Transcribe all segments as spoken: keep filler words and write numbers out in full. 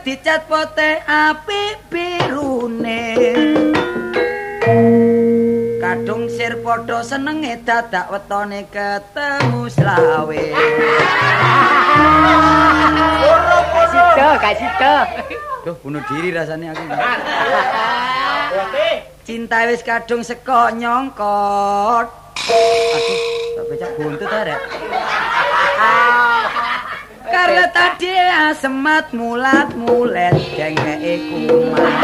dicat pote apik birune. Kadung sir padha senenge dadak wetone ketemu slawe. Sida, gak sida. Duh, bunuh diri rasanya aku. Cinta wis kadung seko nyongkot. Aduh, tak becak buntut arek. Karena tadi asemat mulat mulet jengke kumat.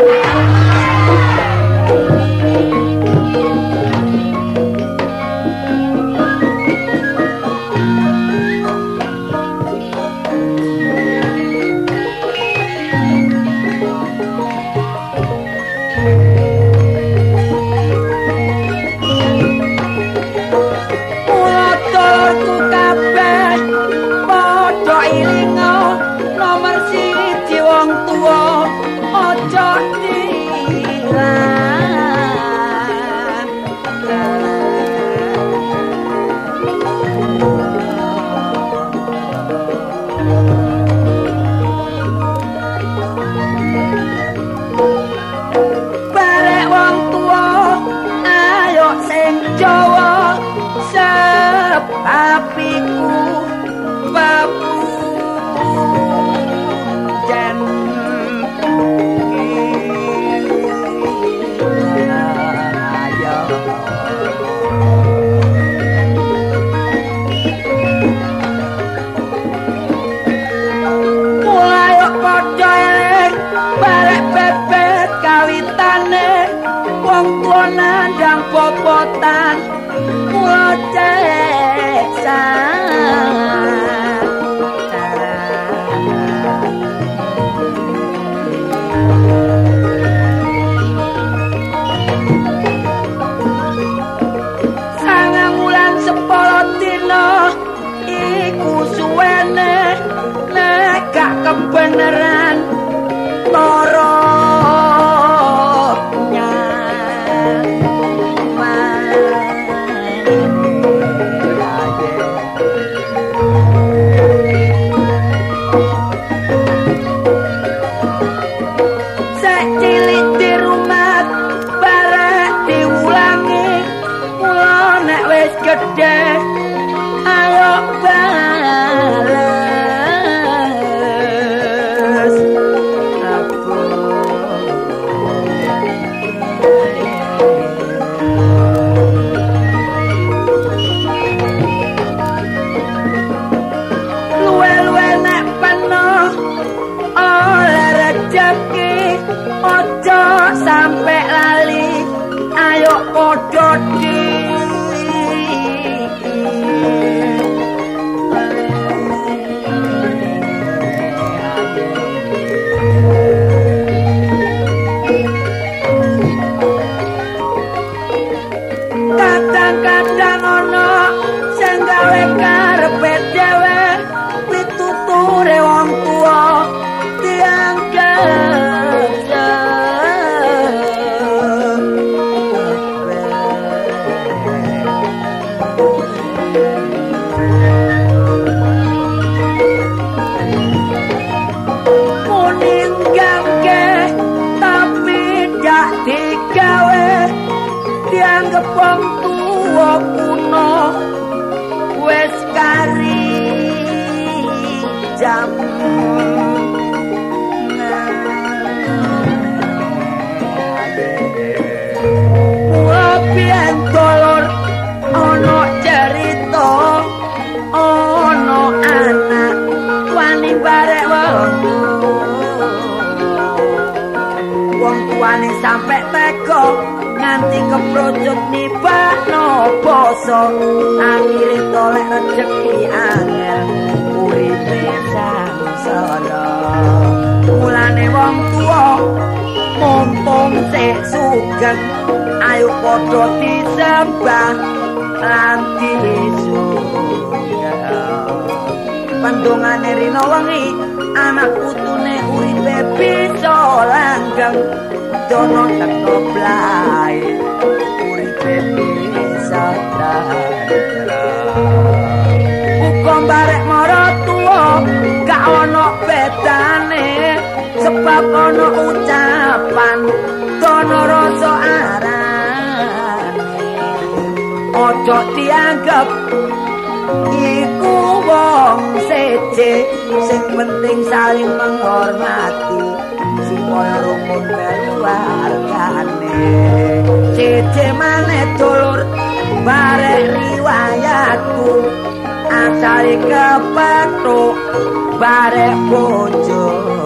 Popotan ngocek sangang wulan sepuluh dina iku suwene nek gak kebeneran toro ayo bales aku luwe-luwe nek penuh oleh rezeki ojo sampe lali ayo podo di kadang-kadang ono sing gawe karepe dhewe pituture wong tuwa dianggep muninggamke tapi dak digawe dianggep wong tuwa kuno wis kari jam Wabian dolor ono cerita ono anak wani barek wong wong tuane sampe teko nganti keprojot nibakno basa akhire tolek rezeki angel uripe sangsara mulane wong tuwa mumpung sik sugeng ayo padha disembah lan disugeng pandongane rina wengi anak putune uripe bisa langgeng dono teko blai uripe bisa uga barek maratuwa gak ono bedane tetep ana ucapan dono rasa arane ojo dianggep iku wong seje sing penting saling menghormati supaya rukun keluargane seje maneh dulur barek riwayatku asale kepethuk barek bojo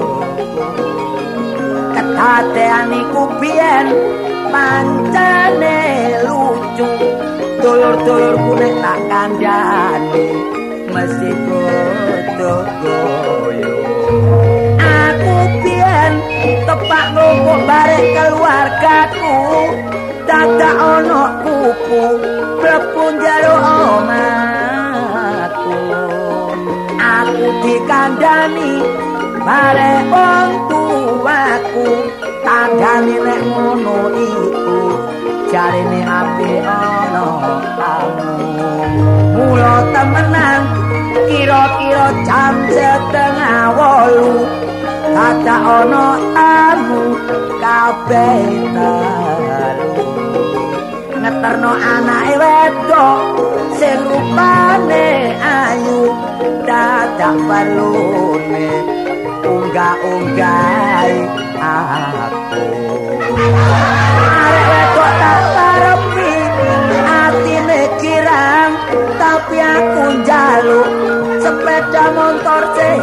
ketatean iku biyen pancene lucu dulur-dulurku nek tak kandhani mesti padha goyo aku biyen tepak nglumpuk barek keluargaku dadak ana kuku mlebu njaluk omahku aku dikandhani barek wong tuaku kandhani nek ngono iku jarine apik ana tamu mula temenan kira-kira jam setengah wolu dadak ana tamu kabeh talu ngeterno anake wedok sing rupane ayu dadak balune unggah-unggahi aku arek wedok tak karepi atine kirang tapi aku njaluk sepeda motor sing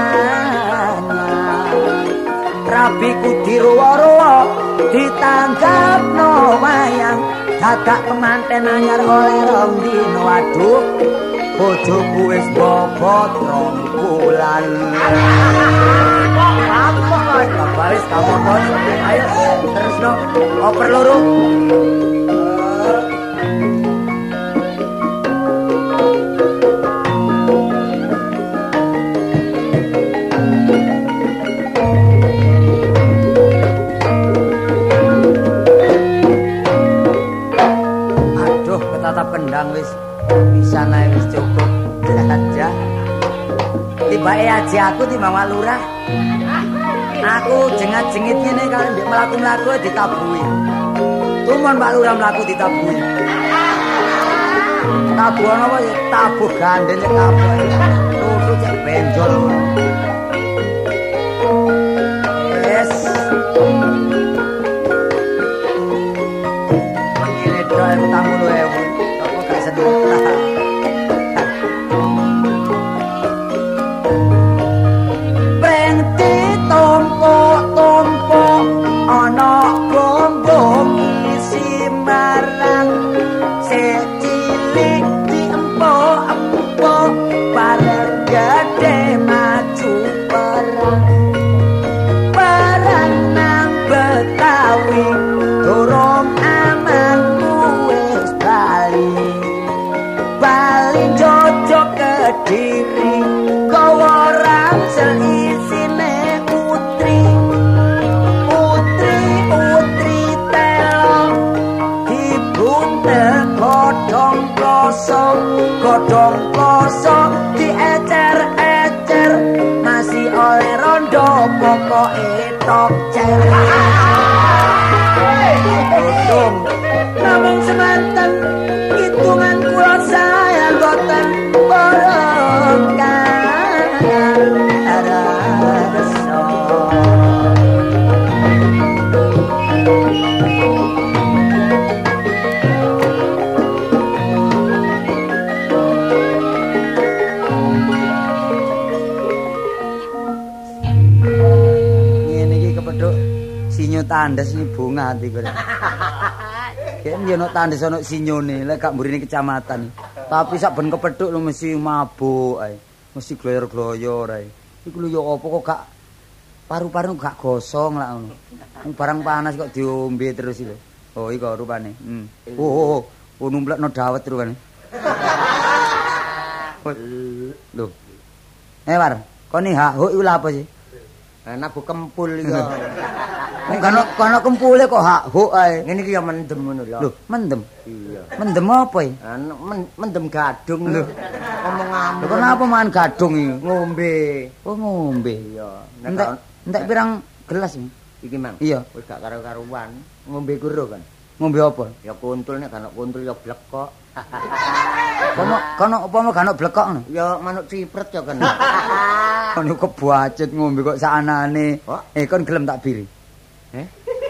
rabiku diruwa-ruwa ditanggapno wayang dadak kemanten anyar oleh rong dino aduh bojoku wis bobot rong bulan apa kok baris kamu bos ayo terus no oper loro tata pendang wis bisa naik wis cukup aja tibake aja aku timbang lurah aku jengat-jengit ngene kalau ndek mlaku-mlaku ditabui tumon Pak Lurah mlaku ditabui tabu apa ya tabu gandeng cek kabeh turu cek benjol yes ngene doa tamu lu ewu Brengti tompok-tompok ana gombong isi marang secilik diempok-empok bareng gede maju perang perang nang Betawi dorong aman wis bali bali jojok Kediri gawa ransel isine putri putri putri telo dibuntel godhong kloso godhong kloso diecer-ecer masih oleh rondo pokoke tok cer namung semanten hitungan kula saya boten borongkan rasa ngene iki kepethuk sinyo tandes ini bunga ati kok yen yo ono tandes ono sinyone lek gak mburine kecamatan tapi sak ben kepethuk lho mesti mabuk ae mesti gloyor-gloyor ae iku lho yo apa kok gak paru-paru gak gosong lak ngono barang panas kok diombe terus iki oh iki rupane hmm. oh oh oh numplekno dawet rupane lho eh war koni hak huk iku lha apa sih enak bu kempul iki Nek kono kono kempule kok hak huk ae. Ngene iki ya mendem ngono lho. Lho, mendem. Iya. Mendem apa iki? Mendem gadung lho. Ngomong-ngomong. Kenapa mangan gadung iki? Ngombe. Oh, ngombe. Iya. Entek entek pirang segelas. Iki mang. Iya. Wis gak karo-karuan. Ngombe kuro kan. Ngombe apa? Ya kuntul nek gak kuntul ya blekok. Kono kono apa mau gak blekok ngono? Ya manuk cipret ya kan. Kono kebacut ngombe kok sakanane. Oh? Eh kon gelem tak biri. Eh?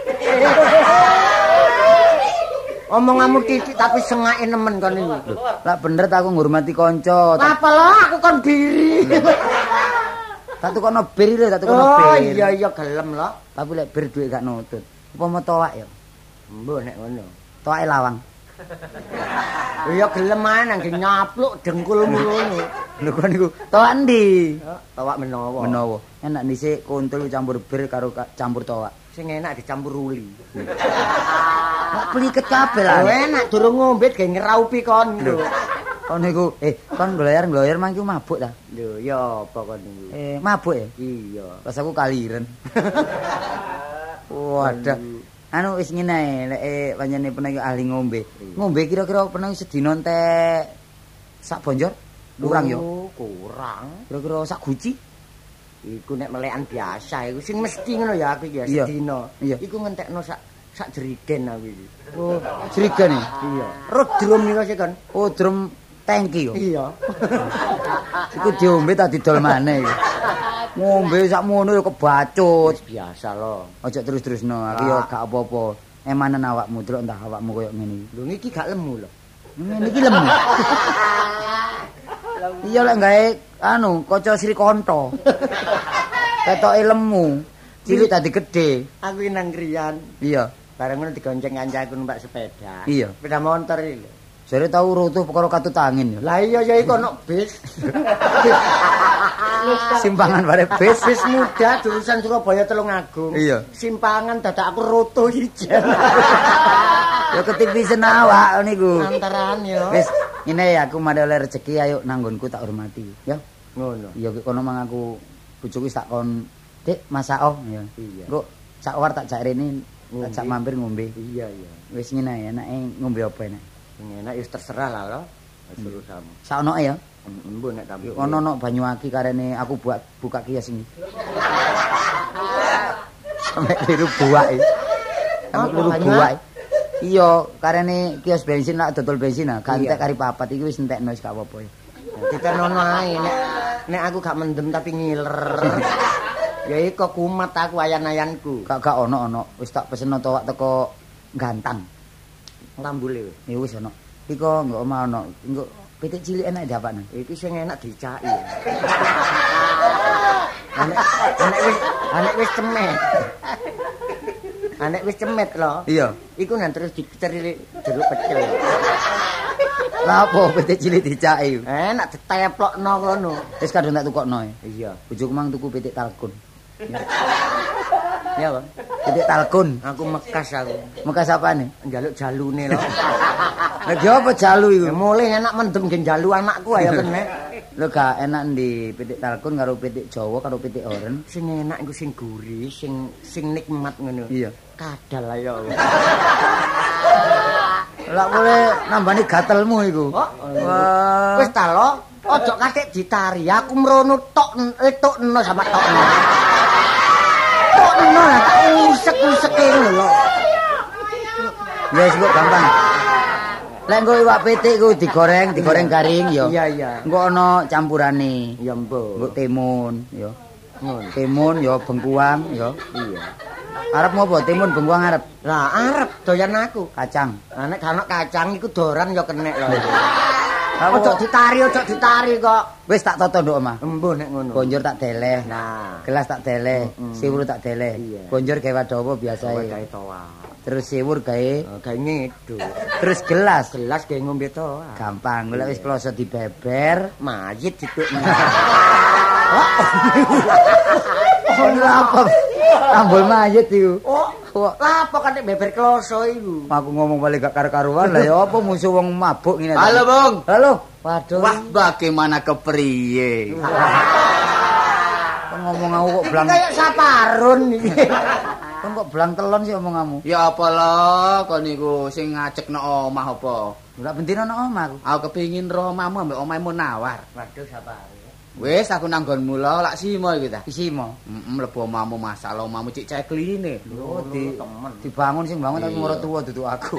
Omonganmu titik tapi sengake nemen kon iki. Lah bener ta aku ngurmati kanca. Apa lo aku kon biri. Tak tukono bir lho, tak tukono Oh bir. iya iya gelem lo. Tapi lek bir duit gak nutut. Apa mau towak ya? Mbok nek ngono. Towake lawang. Ya gelem ae nang nyapluk dengkulmu ngono. Lho kon niku towak endi? Tawak menawa. Menawa. Enak dhisik kuntul campur bir karo ka- campur towak. Sing enak dicampur uli. Kok pliket kabeh lah. Oh enak durung ngombe ge ngeraupi kon lho. Kon niku eh kon gloyer-gloyer mangki mabuk ta? Lho ya apa kon niku? Eh mabuk ya? Iya. Pas aku kaliren. Wadah. Anu wis ngene ae, lek eh, pancene pernah ahli ngombe. Ngombe kira-kira pernah sedina entek sak bonjor? Kurang yo. Oh, kurang. Kira-kira sak guci? Iku nek melekan biasa iku sing mesti ngono ya aku ya Iya. sedina. Iya. Iku ngentekno sak sak jerigen aku iki. Oh, jerigen ya? Iya. Rut drum niku sih kan. Oh, drum tangki yo. Iya. Iku diombe tak didol maneh iki. Ngombe sakmono yo kebacut. Wis biasa loh. Ojo terus-terusno, aku yo gak apa-apa. Emanen awakmu delok entah awakmu koyo ngene iki. Lho niki gak lemu lho. Ngene iki lemu. Iya lek gawe anu kaca Sri Kanto. Ketoke lemu, cilik dadi gedhe. Aku nang kriyan. Iya. Bareng ngono digonceng kancaku numpak sepeda. Iya. Sepeda motor iki lho. Jare tau rutuh perkara katut angin ya. Lah iya ya iku ono bis. Simpangan bare bis. Bis muda jurusan Surabaya Tulungagung. Iya. Simpangan dadak aku rutuh ijen. Ya ketipisen awak niku. Antaran yo. Wis, ngene ya aku mari oleh rezeki ayo nanggonku tak hormati ya. Ngono. Ya kono mang aku bojoku wis tak kon Dik masako ya. Iya. Engko sak war tak jak rene tak jak Ngombe. mampir ngombe. Iya iya. Wis ngene ae enake ngombe apa enak. Sing enak ya terserah lah lo. Suruh kamu. Saonoke ya. Embo nek kamu. Ono no banyu aki karene aku buat buka kios ini. Sampai liru buak iki. Sampai Apa, liru banyu buak. Iya, karene kios bensin lak dodol bensin ah, gantek Iya. kari papat iki wis entekno wis gak apa-apa ya. Kita nono ae nek nek aku gak mendem tapi ngiler. Ya iku kumat aku ayan-ayanku. Gak gak ono ono. Wis tak peseno towak teko gantang. Lambule wis. Ya wis ono. Iko engko omah ono. Engko pitik cilik enak diapakne. Iki sing enak dicaki. Anek anek wis anek wis cemet. Anek wis cemet lho. Iya. Iku nang terus diceri jeruk pecel. Lah apa pitik cilik dicaki? Enak diteplokno kono. Wis kadung tak tukokno. Iya. Bojoku mang tuku pitik talkun. Ya, Bang. Pitik talkun. Aku mekas aku. Mekas apane? Njaluk jalune lho. Lah dia apa jalu iku? Ya mulai enak mendem gen jalu anakku ayo kene. Lho gak enak ndi pitik talkun karo pitik Jawa karo pitik oren. Sing enak iku sing gurih, sing sing nikmat ngono. Iya. Kadal ayo. Lah boleh nambani gatelmu iku. Oh, Wah. wis ta lo, ojo katik ditari. Aku mrono tok eh tokno sama tokno. Tokno tak usek-useke ngono lho. Ya wis kok gampang. Lek engko iwak pitik iku digoreng, digoreng garing ya. Iya iya. Engko ana campurane. Ya Engko mbok. timun ya. Ngono. Timun ya bengkuang ya. Iya. Arep ngopo? Timun bengkuang arep Lah arep doyan aku. kacang. Lah nek gak ono kacang iku doran ya kenek lho. Aku Ojo ditari, ojo ditari kok. wis tak toto nduk omah. Embuh nek ngono. Bonjor tak deleh. Nah, Gelas tak deleh, Mm-mm. siwur tak deleh. Iya. Bonjor gawe wadawa biasa gawe ya. gawe toa. Terus siwur gawe, Gawe ngidul. terus gelas. Gelas gawe ngombe toa. Gampang, golek wis kloso dibeber. Mayit ditukne. Oh, apa? Tambul mayit iku. Oh, Kok lah apa kan nek beber kloso iku? aku ngomong balik gak karo-karuan lah ya apa musuh wong mabuk ngene. Halo, Bung. Halo. Waduh. Wah, bagaimana kepriye? Ngomong aku kok blang. Kayak saparun iki. Kon kok belang telon sih omonganmu. Ya apa lho kon niku sing ngajekno omah apa? Ora bendina nang omah aku. Aku kepengin roh omahmu ambek omahe Munawar. Waduh Sapari. Wis aku nang nggonmu lho lak simo iki ta. Isimo. Heeh mlebu omahmu masalah omahmu cek cekline. Lho di dibangun sing bangun tapi ora tuwa duduk aku.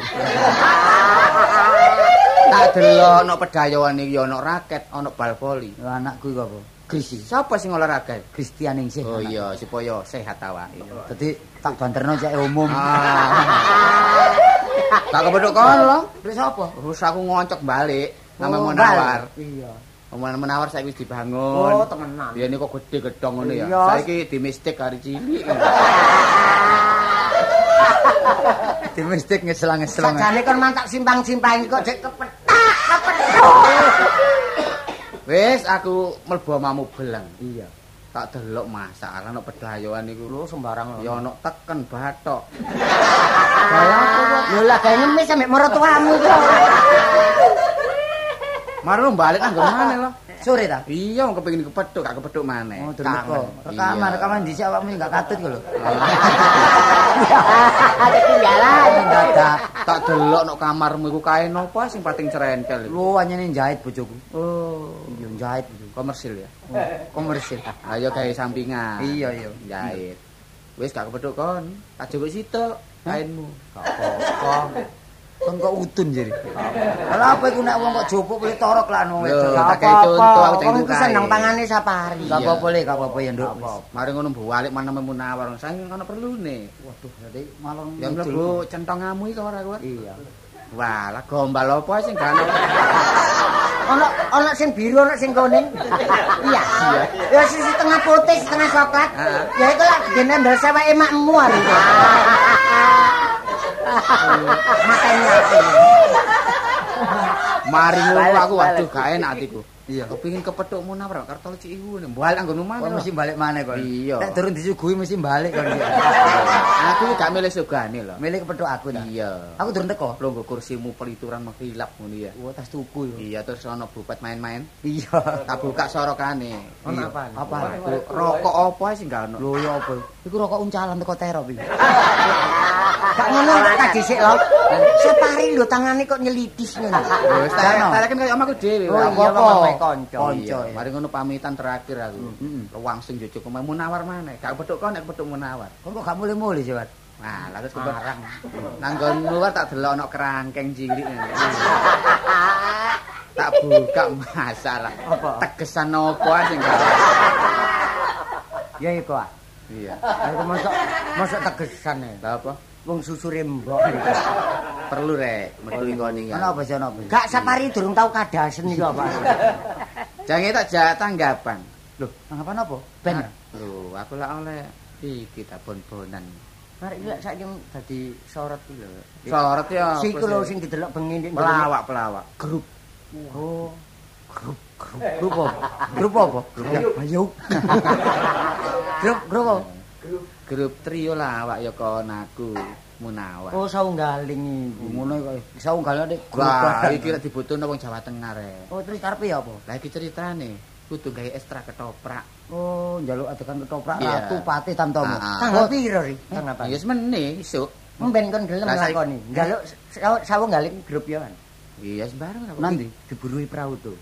Tak delok ana pedayoan iki ana raket, ana bal voli. Lho anakku iku apa? Krisi. Sapa sing olahraga? Kristian ning sih. Oh iya supaya sehat awake. Dadi tak banterno cek umum. Ah. Tak kepethuk kon lho. Terus apa? Terus aku ngoncok balik nama Oh, Munawar. Iya. Omongan Munawar saiki wis dibangun. Oh, temenan. Biyen kok gede gedhong ngono ya. Iya. Saiki dimistik kari cilik. Dimistik ngeslang-ngeslang. Sajane kon mantak simpang-simpang kok jek kepetak, kepetak. Wis aku mlebu omahmu beleng. Iya. Tak delok masalah ana pedayoan iku. Lho sembarang lho. Ya ana teken bathok. Kaya apa kok? Lho lah gawe ngemis sampe mertuamu kok. Maro balik nang nggon maneh lho. Sore ta? Iya wong kepengin kepethuk, gak kepethuk maneh. Oh, durung teko. Rekaman, rekaman dhisik awakmu enggak katut kok lho. Ketinggalan. Dadak. Tak delok nok kamarmu iku kain apa sing pating cerentel iku. Lho anyene jahit bojoku. Oh, Iya jahit bojoku. komersil ya. Komersil. Ayo gawe sampingan. Iya iya. Jahit. Wis gak kepethuk kon. Tak jupuk sitok kainmu. Gak apa-apa. Kon kok udun jare. Lah apa iku nek wong kok jopuk boleh torok lah wong Lho, wedok. tak kayak contoh aku Kon cengku iku seneng pangane Sapari. Gak apa-apa le, gak apa-apa ya, Nduk. Mari ngono balik mana Munawar. Saking ana perlune. Waduh, berarti malah Ya mlebu centongamu iki ora kuwi. Iya. Wah, lah gombal apa sing gak ana. Ono ono sing biru, ono sing kuning. Iya. Ya sisi tengah putih, setengah coklat. Ya iku lak genembel seweke makmu ari. Matanya aku. Mari ngono aku waduh gak enak atiku. Iya. Kepengin kepethuk Munawar karo tol cik iku balik anggonmu Kon maneh. mesti balik maneh kon. Iya. Nek durung disuguhi mesti balik kon. Aku gak milih sugane lho. Milih kepethuk aku ta. Iya. Aku durung teko. Lho nggo kursimu pelituran mengkilap ngono ya. Wah, tas tuku yo. Iya terus ana bupet main-main. Iya. Tak buka sorokane. Ono apa? Apa? Rokok apa sing gak ono? Lho ya apa? Iku rokok uncalan teko terop iki. Gak ngono tak dhisik lho. Sapari lho tangane kok nyelidis ngono. Wis tak tak kaya omahku dhewe. Oh, Apa iya, apa? omahe kanca. Kanca. Iya, mari ngono pamitan terakhir aku. Langsung jojo ke Munawar maneh. Gak kepethuk kon nek kepethuk Munawar. Kon kok gak mulih-mulih sih, Wat? Nah, lah terus keparang. Nang nggonmu luar tak delok ana kerangkeng cilik. Tak buka masalah. Apa? Tegesan apa sing gak. Ya iku ah. Iya. Aku mosok mosok tegesan ya. Lah apa? Wong susure mbok. Perlu rek, metu ngene iki. Ana apa sih ana apa? Gak Sapari durung tau kadasen iki apa. Jange tak jak tanggapan. Lho, tanggapan apa? Ben. Lho, aku lak oleh iki ta bon-bonan. Mari lek saiki dadi sorot iki lho. Sorot ya. Siku lho sing didelok bengi ndek pelawak-pelawak. Grup. Oh. Grup, grup. Grup apa? Grup apa? Grup Ayo. Grup, grup apa? Grup trio lawak ya kon aku Munawar. Oh saunggaling iki. Ngono kok. Saunggal nek grup. Wah, iki lek dibutuhno wong Jawa Tengah rek. Oh, terus karepe ya apa? Lah iki ceritane kudu gawe ekstra ketoprak. Oh, njaluk adegan ketoprak Iya. Ratu Pati Tamtomo. Ah, ah. Tanggal piro ri? Tanggal Ya wis meneh isuk. Mben kon gelem Lah, saiki- lakoni. Njaluk saunggaling grup ya kan. Iya sembarang apa. Nanti Diburui perahu tuh.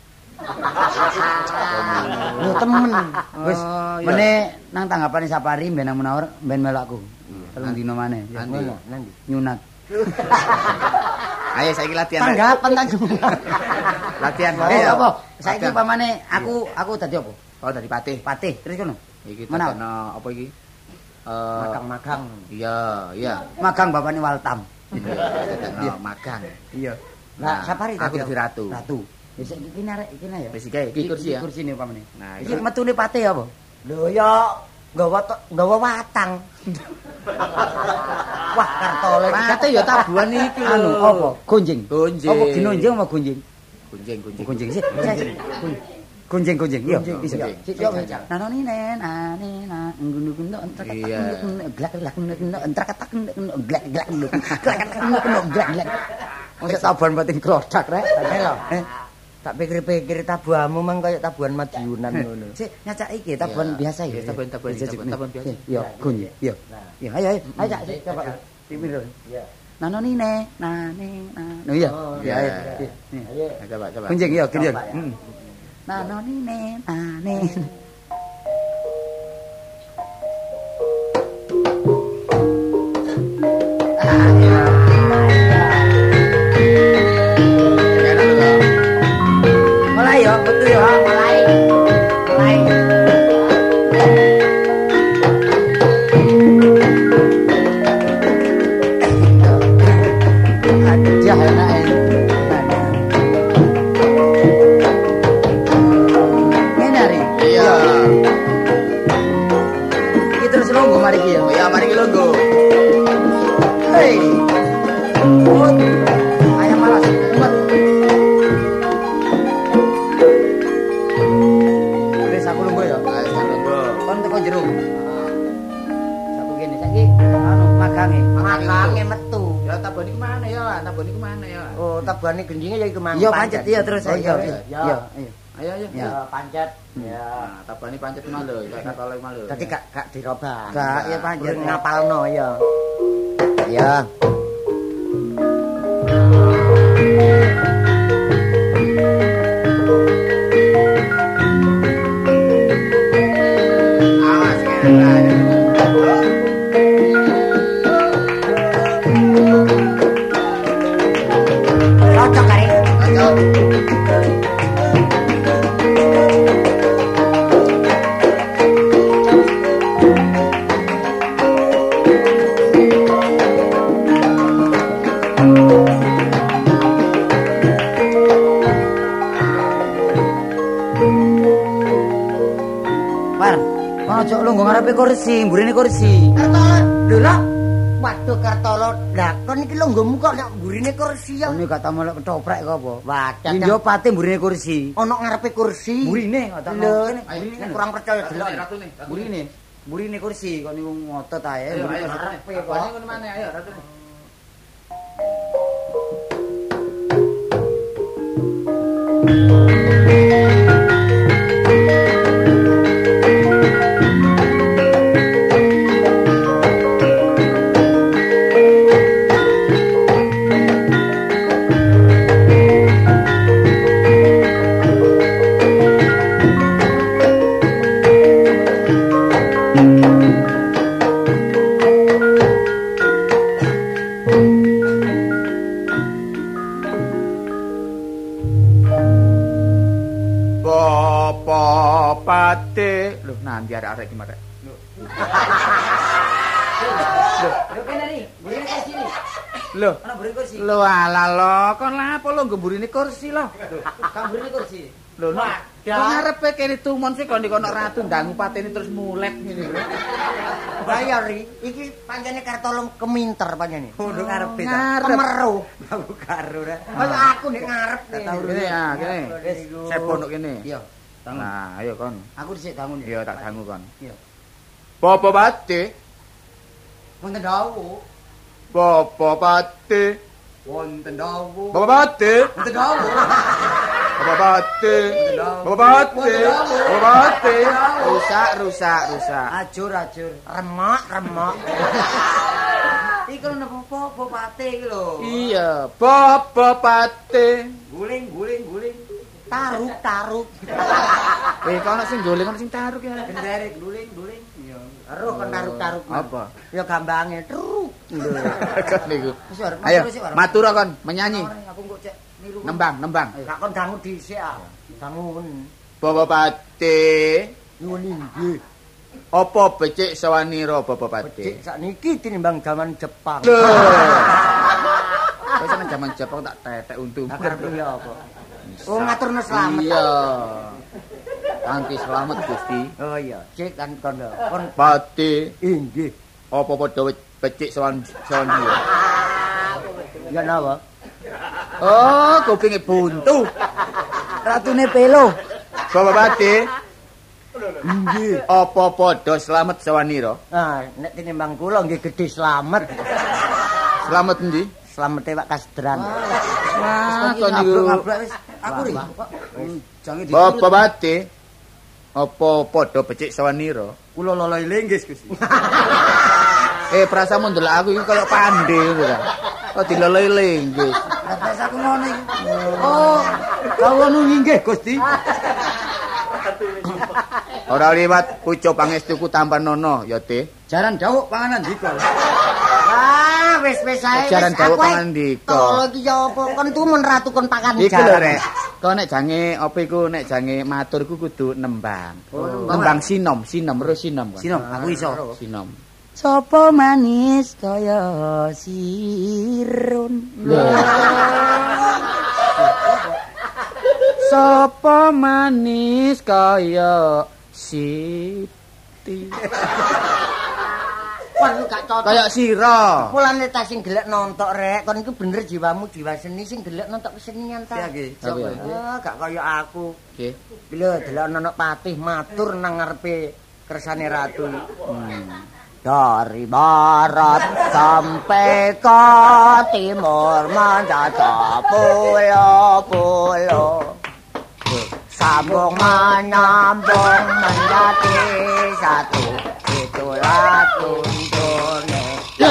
lho temen. Wis Oh, iya. meneh nang tanggapane Sapari ben nang Munawar ben melok aku. Telung dino maneh. Ya Nanti. ngono, nanti. Nyunat. Ayo saiki latihan. Rek. Tanggapan ta semua. Latihan. Eh Ayo. apa? Saiki Latihan. pamane aku aku dadi apa? Oh dari patih. Patih. Terus kono. Iki Mana? tekono apa iki? Eh Magang-magang. iya, iya. Magang bapakne Waltam. Iya, tekono magang. Iya. Lah Sapari aku tadi dadi ratu. Ratu. Wis iki kene arek iki ya. Wis iki iki kursi ya. Kursine pamane. Nah, Iki iki- metune patih apa? Lho ya nggawa to- nggawa watang. Wah, kartole Mate ya tabuhan iki lho. Anu apa? Gonjing. Gonjing. Apa ginonjing apa gonjing? Gunjing, gunjing. Gonjing sih. Gonjing gonjing. Iya. Gonjing, Iya. gonjing. Sik yo. Nanoni nen ane na ngunu kuno entek Iya. glak glak kuno entek tak kuno glak glak kuno. Glak glak kuno glak glak. Wong tabuhan batin klodak rek. Ayo lho. Eh. Tak pikir-pikir tabuhanmu mang kaya tabuhan Madiunan ngono. Sik nyacak iki tabuhan biasa ya. Tabuhan-tabuhan tabuhan biasa. Yo, gun yo. Yo. Yo, ayo ayo. Ayo cak sik coba. Timir. Iya. Nano nine, nane, nano iya. Iya, ayo. Ayo. Coba coba. Kunjing yo, kunjing. Heeh. Nano nine, nane. Mulai yo, betul yo, mulai. Mulai. Aja enak ini. Ngene ari. Iya. Iki terus longgo mari iki ya. Ya mari ki longgo. Hei. Oh. Ayam malas. Umat. Wis aku lungguh ya. Ayo longgo. Kon teko jero. Saku kene saiki anu magange. Makange metu. Ya taboni kemana ya? Taboni kemana ya? Oh, tabuhane gendinge ya iku mang. Iya pancet iya terus Oh, ayo. iya, Iya, iya. ayo. Ayo ayo. Ya. Ya pancet. Ya. Nah, tabani pancet malu, kayak kata malu. Dadi gak gak dirobah. Gak ya pancet Urung ngapalno ya. Ya. Awas kene. Cocok kari. Ayo. Par, kono ojo lungguh ngarepe kursi, mburine kursi. Kertolo. Lho lho. Waduh Kertolo, lah kon iki longgomu kok nek mburine kursi ya. Ini gak tau melok ketoprak kok apa? Wadah. Yo pate mburine kursi. Ono ngarepe kursi. Mburine kok tak Lho, kene. mburine kurang percaya delok. Ratu nih. Mburine. Mburine kursi kok niku ngotot ae. Ayo mburine ayo. kursi. Tabani ngono mana ayo ratu. Bapak pate. Loh, nanti arek-arek iki marek. Lho kene ri, mburine kursi ri. Loh, Ana mburine kursi. lho ala lo, kon lapo lo gemburine kursi lo. Kang mburine kursi. Lho, no. Kok ngarepe kene tumon sih kon dikono ratu ndangu patene terus mulet ngene lho. Bayar ri. Iki pancene Kertolo keminter pancene. Kudu ngarepe ta. Ngarep. Kemeru. Aku karo ra. Kaya aku nek ngarep nih. Kene ya, kene. Wis. Sepo nduk kene. Iya. Tangun. Nah, ayo kon. Aku dhisik tangun. Iya tak dangu kon. Iya. Bapak pate. Wonten dawu. Bapak pate. Wonten dawu. Bapak pate. Wonten dawu. Bapak pate. Bapak pate. Bapak pate. Rusak, rusak, rusak. Ajur ajur. Remok, remok. Iki lho apa-apa pate iki lho. Iya, Bapak pate. Guling guling guling. Taruk, taruk. Eh, kono sing golek kono sing taruk ya. Kendare guling guling. Iya. Aruh kon taruk-taruk. Apa? Ya gambange truk. Lho. Kan niku. Wis war, Ayo, matur sik war. matur kon menyanyi. Aku kok cek niru. Nembang, nembang. Gak kon dangu dhisik ah. Dangun. Bapak pate. Nuwun inggih. Apa becik sawanira Bapak pate? Becik sakniki tinimbang jaman Jepang. Lho. Wis ana jaman Jepang tak tetek untu. Akar piye apa? Oh ngaturno slamet. Iya. Kanthi selamat Gusti. Oh iya, cek kan kon lho. Kon Pate. inggih. Apa padha becik sawan sawanira? Ya napa? Oh, kupinge buntu. Ratune pelo. Bapak pate. Inggih. Apa padha selamat sawanira? Ah, nek tinimbang kula nggih gedhe slamet. Selamat endi? Slamete Pak Kasdran. Wah, kok niku ngablak wis aku ri. Jange di. Bapak Bati. Apa padha becik sawanira? Kula loloi linggis Gusti. Eh, prasamu ndelok aku iki kaya pandhe ngono ta. Kok diloloi linggis. Terus aku ngono iki. Oh, kawula nggih Gusti. Ora liwat pucuk pangestuku tanpa nono ya, Teh. Jaran dawuh panganan dika. Ah, wis wis ae. Jaran dawuh panganan dika. Tolo iki ya apa kon tumun ratu kon pakan Iku lho, jaran. Rek. Kok nek jange apa iku nek jange matur ku kudu nembang. Oh, nembang sinom, sinom ro sinom. Sinom, aku iso. Sinom. Sopo manis kaya sirun. Sopo manis kaya Siti. Kon gak cocok. Kaya sira. Mulane ta sing gelek nontok rek, kon iku bener jiwamu jiwa seni sing gelek nontok kesenian ta. Iya nggih. Oke. Ah, gak kaya aku. Nggih. Lho, delok ana patih matur nang ngarepe kersane ratu. Dari barat sampai ke timur menjajah pulau-pulau. Sambung menyambung menjadi satu. Itulah tuntunnya.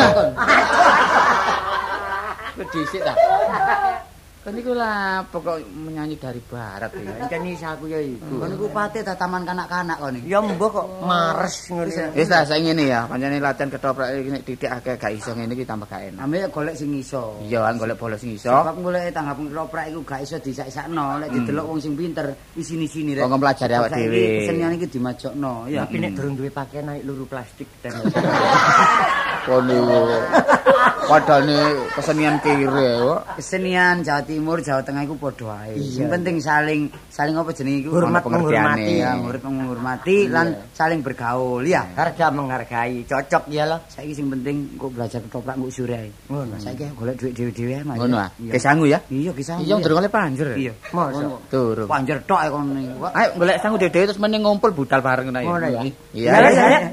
Dhisik ta. Kan iku lah pokok menyanyi dari barat iki. Pancen isa aku ya iku. Kon niku pate ta taman kanak-kanak kon iki. Ya mbok kok mares ngono. Wis ta saiki ngene ya, pancene latihan ketoprak iki nek titik akeh gak iso ngene iki tambah gak enak. Ame golek sing iso. Iya kan golek bola sing iso. Sebab golek tanggap ketoprak iku gak iso disak-sakno, lek didelok wong sing pinter isini-sini rek. Kok mempelajari awak dhewe. Kesenian iki dimajokno, ya. Tapi nek durung duwe pakaian naik luru plastik ten. Kon niku. Padane kesenian kire kok. Kesenian Jawa Timur, Jawa Tengah iku padha ae. Sing penting saling saling apa jenenge iku Hormat menghormati, menghormati. ya, murid menghormati lan saling bergaul ya. Harga menghargai, cocok ya loh. Saiki sing penting kok belajar ketoprak kok sure ae. Ngono. Saiki golek dhuwit dhewe-dhewe ae, Mas. Ngono ah. Iya. Ke sangu ya. Iya, kisah. Iya durung oleh panjer. Iya. Mosok. Durung. Panjer tok ae kono niku. Ayo golek sangu dhewe terus meneng ngumpul budal bareng ngono Ngono ya. Iya. Ya, ya, ya.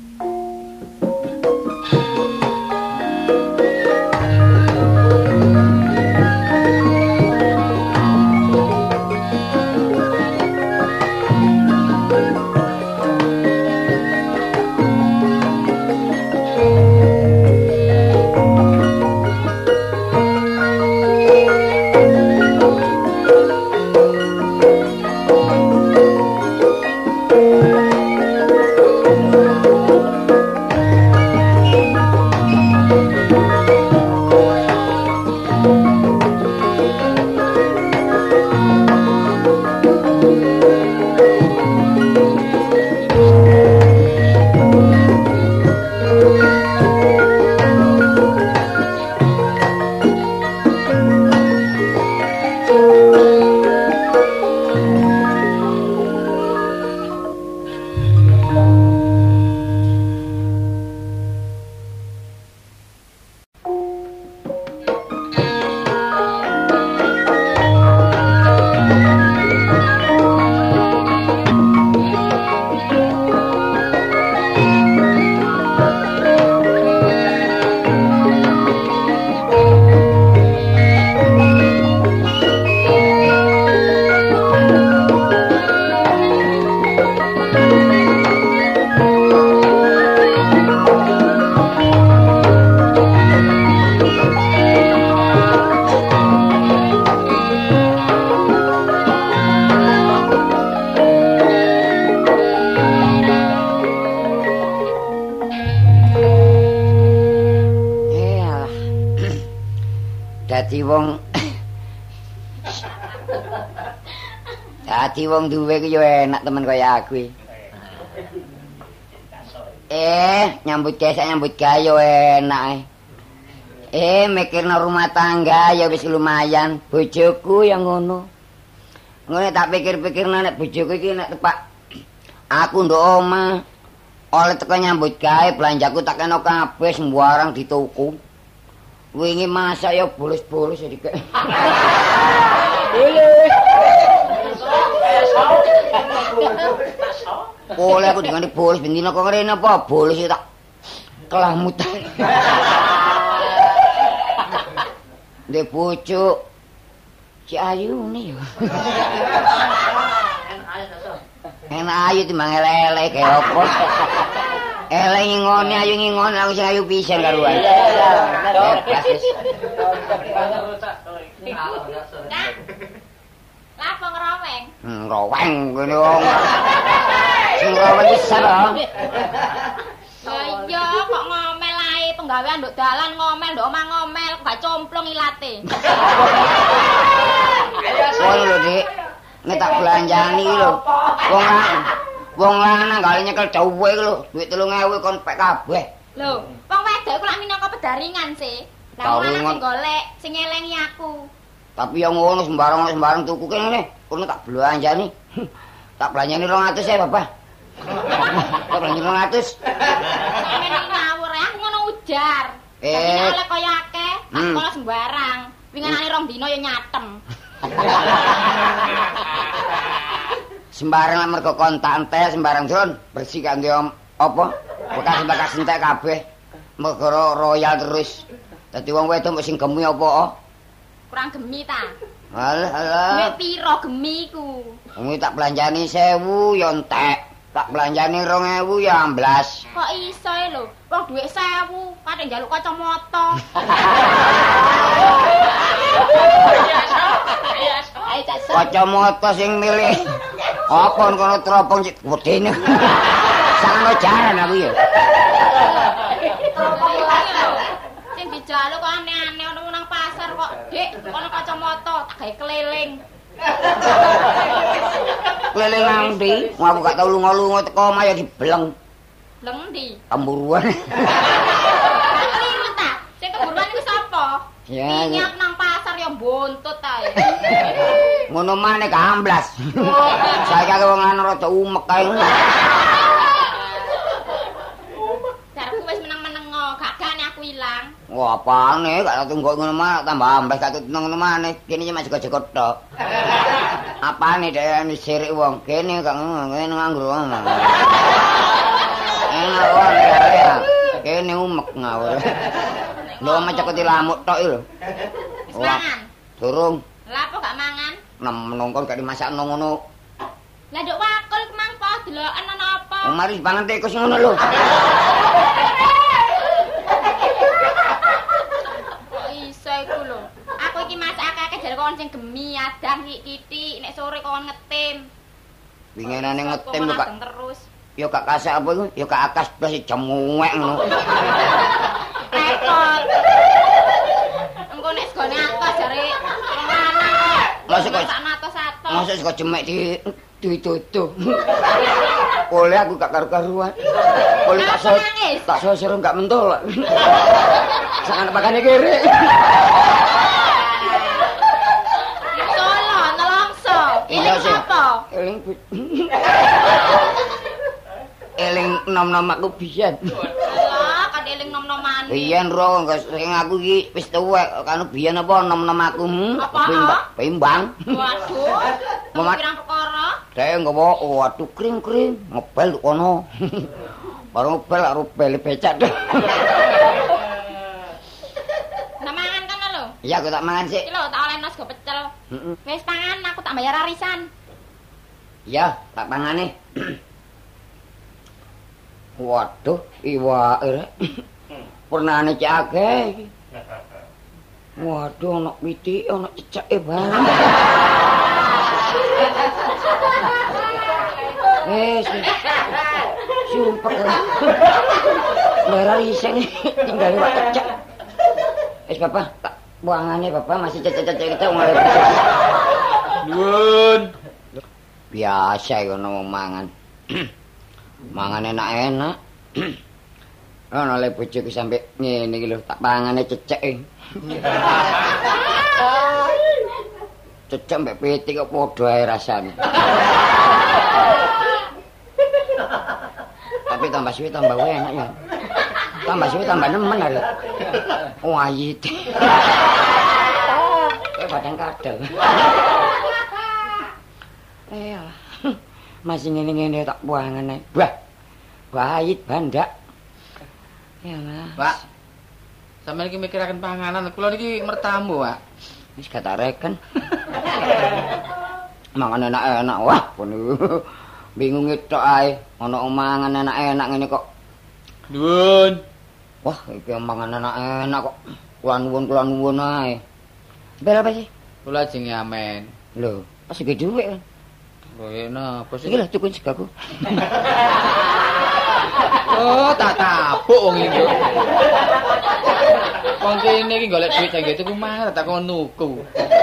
Dadi wong Dadi wong duwe ku yo enak temen kaya aku. Eh, nyambut gawe nyambut gawe yo enak. Eh, mikirno rumah tangga ya wis lumayan. Bojoku yang ngono. Ngono tak pikir-pikirno nek bojoku iki nek tepak aku ndok omah oleh teko nyambut gawe belanjaku tak kena kabeh sembarang dituku. Wingi masak ya bolos-bolos ya dikek. Boleh aku dengan bolos bendina kok ngene apa bolos ya tak kelamut. Ndek pucuk Si Ayu nih. Enak ayu timbang elek-elek kaya apa. Elek ngingoni ayu ngingoni aku sing ayu pisan karuan. Lapo ngeroweng? Hmm, roweng ngene wong. Sing roweng wis ora. Ya iya kok ngomel ae penggawean nduk dalan ngomel nduk omah ngomel gak complong ilate. Oh lho Dik. Nek tak belanjani iki lho. Wong lanang. Wong lanang gak nyekel dawuhe iki lho, duit telung ewu kon pek kabeh. Lho, wong wedok iku lak minangka pedaringan sih. Lah wong lanang sing golek, sing ngelengi aku. Tapi yang ngono sembarang-sembarang tuku kene, kono tak belanjani. Tak belanjani rong atus ya, Bapak. Tak belanjani rong atus. Sampeyan ngawur ya, aku ngono ujar. Eh, oleh kaya akeh, tak sekolah sembarang. Winginane rong dina ya nyatem. Sembarang lah mergo kontak entek sembarang Jon, bersih kangge apa? Bekas-bekas entek kabeh. Mergo royal terus. Dadi wong wedok sing gemi apa? Kurang gemi ta? Alah, alah. Nek piro gemi ku? Wong tak belanjani sewu ya entek. Tak belanjani rong ewu ya amblas. Kok iso e lho? Wong dhuwit sewu, kadang njaluk kacamata. Kacamata sing milih apa kono teropong cik wedene. Sangono jaran aku ya. Sing dijaluk kok aneh-aneh ono nang pasar kok, Dik, kono kacamata tak gawe keliling. Keliling nang ndi? Wong aku gak tau lunga-lunga teko omah ya dibeleng. Bleng ndi? Temburuan. Keliling ta? Sing keburuan iku sapa? Ya. Minyak nang pasar ya buntut ae. Ngono maneh gamblas. Saiki aku wong lanang rada umek kae. Jarku wis meneng-menengo, gak gane aku ilang. Wah, apane gak tunggok ngono mah tambah amblas gak ngono maneh. Kene cuma jaga-jaga tok. Apane dhewe sirik wong. Kene gak ngene nganggur wong. Enak wong ya. Kene umek ngawur. Lho macak dilamuk tok lho. Wis mangan? Durung. Lah apa gak mangan? Nem menongkon gak dimasakno ngono. Lah nduk wakul kemangko deloken ana apa? Wong mari pangan tikus ngono lho. Kok iso iku lho. Aku iki masak akeh jare kon sing gemi adang kitik nek sore kon ngetim. Winginane ngetim kok gak terus. Ya gak kasak apa iku? Ya gak akas blas jemuwek ngono. Repot. Engko nek segone atas jare wong lanang kok. Masuk kok atos-atos. Masuk kok jemek di ditutup. Oleh aku gak karu-karuan. Oleh tak so tak so serem gak mentol. Sangan pakane kere. Solo nelongso. Ini apa? Eling eling nom-nom aku biyen. Lah, kan eling nom-noman. Biyen ro sing aku iki wis tuwek kan biyen apa nom-nom aku. Pimbang. Waduh. Pirang perkara? Dhewe nggawa waduh kring-kring ngebel kono. Baru ngebel karo bel becak. Nah mangan kan lho. Iya aku tak mangan sik. Iki lho tak olehno sego pecel. Heeh. Wis pangan aku tak bayar arisan. Iya, tak pangane. Waduh, iwake rek. Pernane cek akeh iki. Waduh, ana pitik, ana ceceke bareng. Wes. Sumpah. Bayar iseng tinggal wak cecek. Wes Bapak, tak buangane Bapak masih cecek-cecek kita mulai. Nuwun. Biasa iku ono mangan. Mangan enak-enak. Ono le bojoku sampe ngene iki lho, tak pangane cecek. Cecek mbek pitik kok padha ae rasane. Tapi tambah suwe tambah enak ya. Tambah suwe tambah nemen lho. Wayit. Kayak badan kadal. Eh, masih ngene-ngene tak buangan ae. Bah. Wayit bandak. Ya, Mas. Pak. Sampeyan iki mikiraken panganan, kula niki mertamu, Pak. Wis kata reken. Mangan enak-enak wah pun bingung tok ae ana mangan enak-enak ngene kok. Nuwun. Wah, iki mangan enak-enak kok. Kula nuwun kula nuwun ae. Bel apa sih? Kula jenenge Amen. Lho, pas iki dhuwit kan. Lho napa sih? Iki lho tukun segaku. Oh, tak tapuk wong iki. Wong kene iki golek duit jangge tuku mangan tak kon nuku.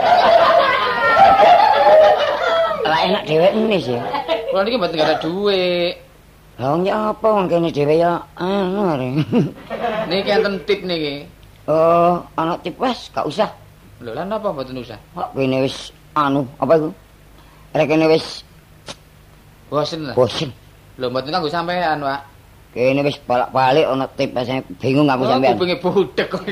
Lah enak dhewekne sih. Kula niki mboten ada duit. Lah wong ya apa wong kene dhewe ya anu are. Niki enten tip niki. Oh, ana tip wes, gak usah. Lho lan napa mboten usah? Kok kene wis anu apa iku? Rek kene wis bosen lah. bosen. Lho mboten kanggo sampean, Pak. Kene wis balak-balik ana tip saya bingung aku sampean. Aku pengen budek kok.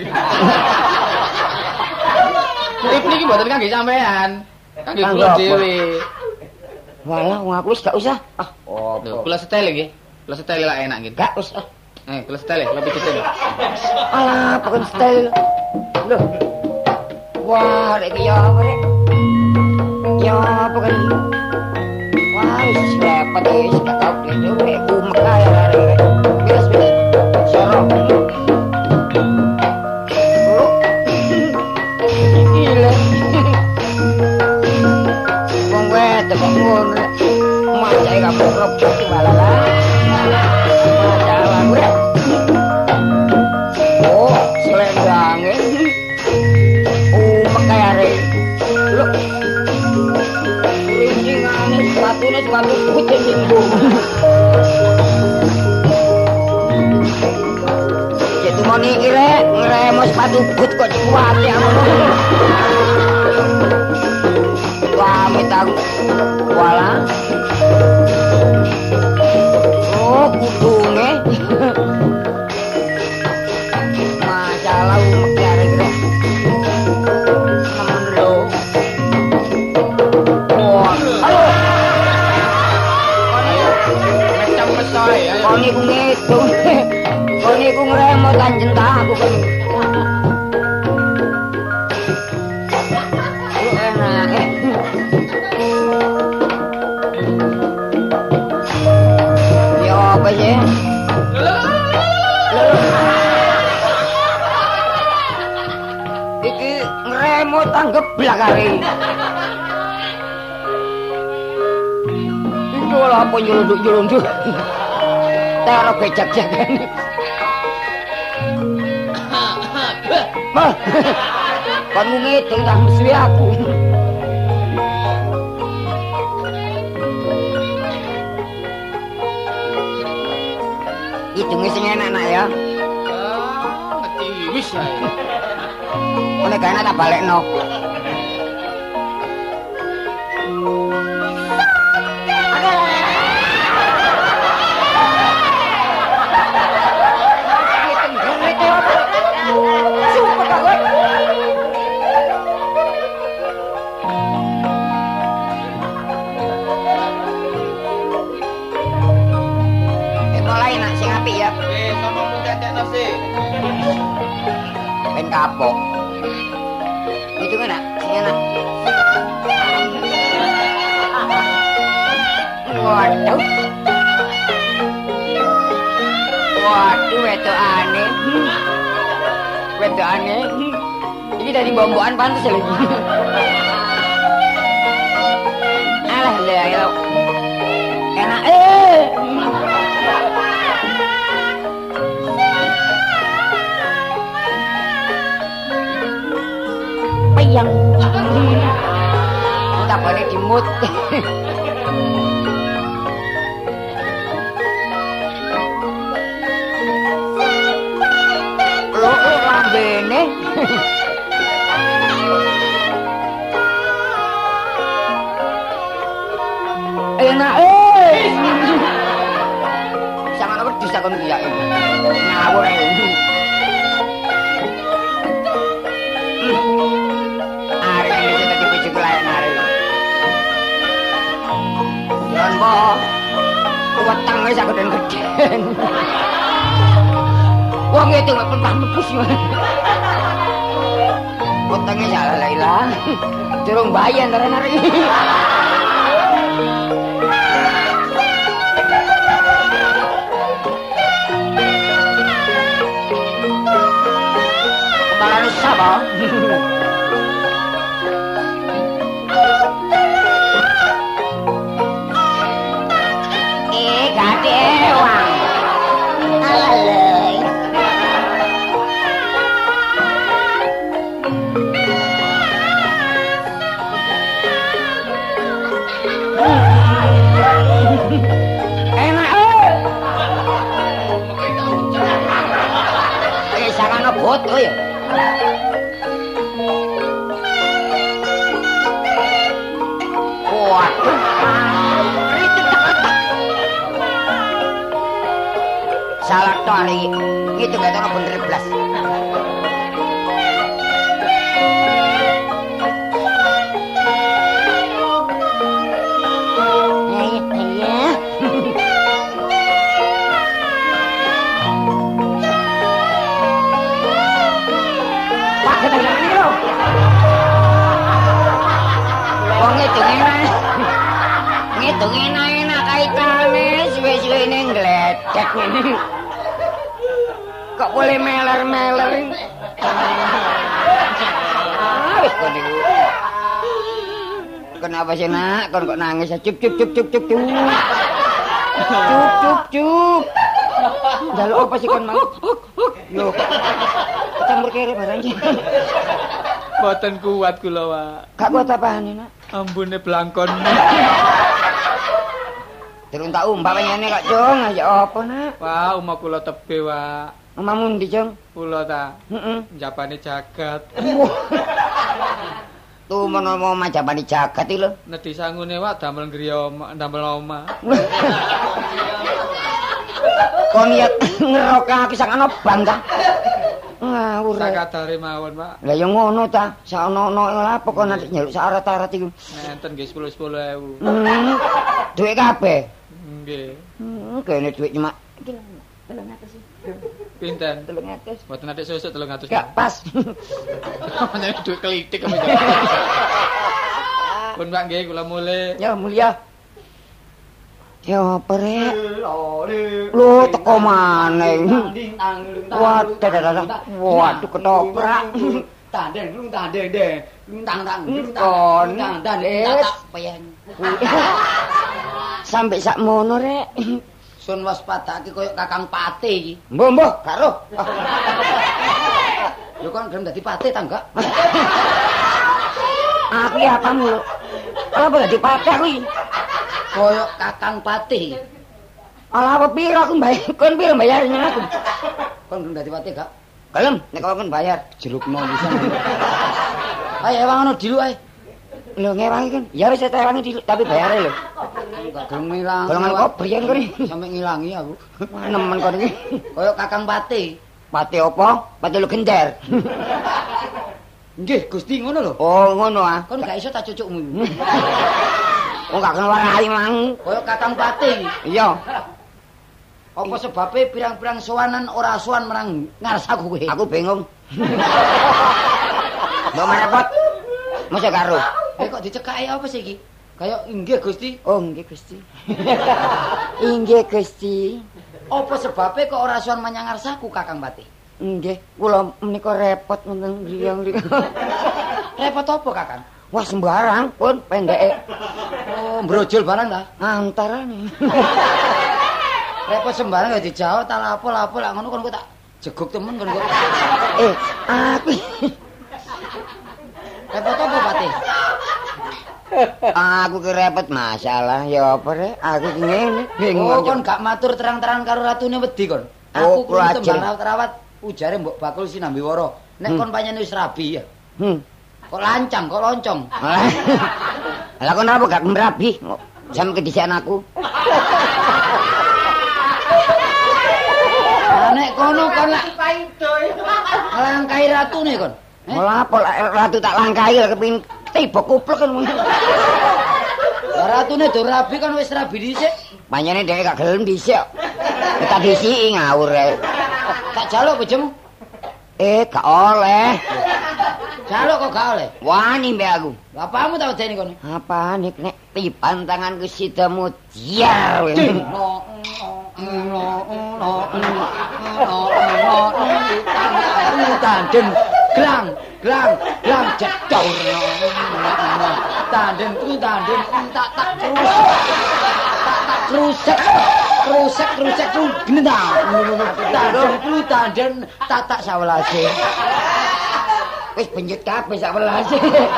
Tip niki mboten kangge sampean. Kangge kula dhewe. Walah, wong aku wis gak usah. Ah, oh, kula setel nggih. Kula setel lah enak nggih. Gak usah. Eh, kula setel, kula pijetin. Alah, pokon setel. Loh. Wah, rek ya apa rek? Ya apa kan? Wah, wis repot wis gak tau dhewe ku mekah ya rek. Wis wis. Sorok. Gila. Wong wedok kok ngono. Macake kamu robot balala. Masalah gue. Oh, selendangnya. Oh, makanya re. Loh. Rincingannya sepatunya sepatu putih minggu. Jadi mau niki re, ngeremo sepatu but kok kuat ya. Pamit aku. Walah. Oh, kudune. Masalah umek arek rek. Nemen lho. Wah, halo. Macam mesoy ya. Kok niku ngitung. Kok niku ngremot kanjen ta aku kok. Enak. Ya apa sih? Iki ngremot tanggeblak kare. Iki ora apa nyelunduk-nyelunduk. Tero bejak-jagan. Mah. Kon ngitung tak mesti aku. Hitungnya sing enak-enak ya. Ah, ngerti wis ae. Oleh karena tak balekno. Ben kapok. Itu kan sing enak. Waduh. Waduh, wedokane. Wedokane. Iki dari bombokan pantes lagi. Alah ya. Enak eh. Payang. Tak boleh dimut. Lo lambene. Enak eh. Sangat wedi sakon iki ya. Ngawur ae. Wetang wis aku den gedhen. Wong itu mek pernah mepus. Utangnya salah Laila. Durung bayar ntar-ntar iki. Kepalane sapa? Eh, gadewang. Alalay. Enak eh. Eh, sakana boto ya. Waduh. Salah to hari itu gak tahu bener blas. Pak kita jangan lo. Wong itu enak. Ngitung enak-enak kaitane suwe-suwe ning gledek ngene. Kok boleh meler-meler? Ah, wis kok niku. Kenapa sih nak? Kon kok nangis? Cup cup cup cup cup cup. Cup cup cup. Jaluk apa sih kon mau? Lho. Campur kere barang iki. Boten kuat kula, Pak. Gak kuat apane, Nak? Ambune blangkon. Durung tak umpah ngene kok, Jong. Ya apa, Nak? Wah, omah kula tebe, Pak. Omahmu ndi, Jong? Kula ta. Heeh. Njapane jagat. Tuh menawa majapane jagat iki lho. Nedhi sangune, Pak, damel griya omah, damel omah. Kon niat ngerokake sak ana bangga. Ngawur. Sakadare mawon, Pak. Lah ya ngono ta, sak ono-ono lapo kok nanti nyeluk syarat-syarat iku. Nenten nggih sepuluh sepuluh ewu. Hmm. Duit kabeh. Nggih. Hmm, kene duit cuma telung atus. Pinten? telung atus. Mboten atik susuk telung atus. Gak pas. Menyang duit klitik kok. Pun Pak nggih kula mulih. Ya mulia. Ya apa rek? Lho teko maneh. Waduh, waduh, waduh ketoprak. Tandeng, lung tandeng deh. Lung tang tang, lung Kon. tang tang tang pengen. Sampai sak mono rek. Sun waspadake koyo Kakang Pate iki. Mbah, mbah, karo. Lho kon gelem dadi pate ta enggak? Aku ya kamu. Apa dadi pate aku iki? Koyo Kakang Pate. Ala apa piro aku bayar? Kon piro bayarnya aku? Kon gelem dadi pate gak? Gelem, nek kon bayar. Jerukno bisa. Ayo ewang ono dilu ae. Lho ngewangi kan. Ya wis tak ewangi diluk tapi bayare lho. Enggak gelem ngilang. Golongan kobrian kon iki. Sampe ngilangi aku. Nemen kon iki. Koyo Kakang Pate. Pate apa? Pate lu gender. Nggih, Gusti ngono lho. Oh, ngono ah. Kon gak iso tak cucukmu. Oh, gak kenal warai mang. Koyo Kakang Pate. Iya. Apa sebabnya pirang-pirang sowanan ora sowan menang ngarsaku kowe? Aku bingung. Mbok repot. Masa karo. Eh kok dicekake apa sih iki? Kayak inggih Gusti. Oh, nggih Gusti. Inggih Gusti. Apa sebabnya kok ora sowan menyang ngarsaku Kakang Pate? Nggih, kula menika repot wonten griyang-griyang. Repot apa Kakang? Wah sembarang pun pendeke. Oh, brojol barang ta? Antarane. Repot sembarang ya dijawab tak lapo-lapo lak ngono kon kok tak jeguk temen kon kok. Eh, aku Repot apa Pate? aku ki repot masalah ya apa rek? Aku ki ngene bingung. Oh, kon gak matur terang-terangan karo ratune wedi kon. Oh, Aku kula kudu tembang rawat ujare Mbok Bakul Sinambiwara. Nek Hmm. kon pancen wis rabi ya. Hmm. Kok lancang, kok loncong. Lah kon apa gak merabi? Sampe kedisian aku. Nek kono kon lak langkai ratune kon. Eh? Malah apa ratu tak langkai kepin tiba kuplek kan. Lah ratune do rabi kan wis rabi dhisik. Panjene dhewe gak gelem dhisik. Tak disiki ngawur rek. Tak jaluk bojemu. Eh, gak oleh. Jaluk kok gak oleh. Wani mbek aku. Bapakmu tak wedeni kono. Apane nek tiban tanganku sida mutiar. Tanden glang glang glang jedor. Tanden ku tanden tak tak terus. Tak tak rusak. Rusak rusak ku gendang. Tanden ku tanden tak tak sawelase. Wis benjut kabeh sak welase.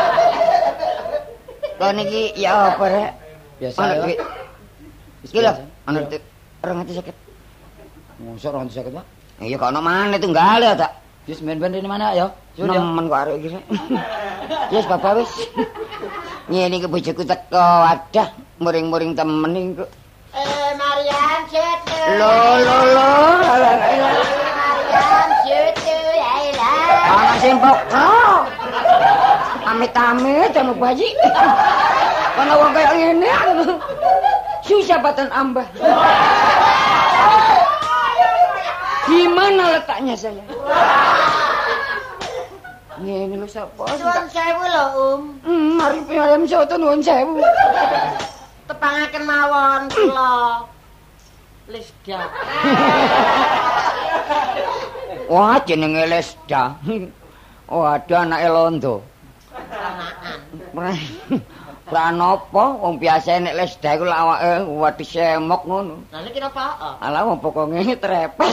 Lah niki ya apa rek? Biasa. Ana duit. Iki lho, ana duit rong atus seket. Mosok rong atus seket, Pak. Iya kok ana maneh tunggal ya tak. Wis men-men rene mana ya? Nemen kok arek iki rek. Wis bapak wis. Ngene iki bojoku teko, wadah muring-muring temen iki kok. Eh Marian Setu. Lo lo lo. Marian Setu ya ilah. Ana sing pokro. Amit-amit sama bayi. Kana wong kaya ngene. Susah batan ambah. Gimana letaknya saya? Ngene lho sapa? Nuwun sewu lho, Um. Hmm, mari piyam soto nuwun sewu. Tepangaken mawon kula. Lesda. Wah, jenenge Lesda. Oh, ada anake londo. Pranopo wong biasa nek Lesda iku awake wadi semok ngono. Lah niki napa? Alah wong pokoke trepes.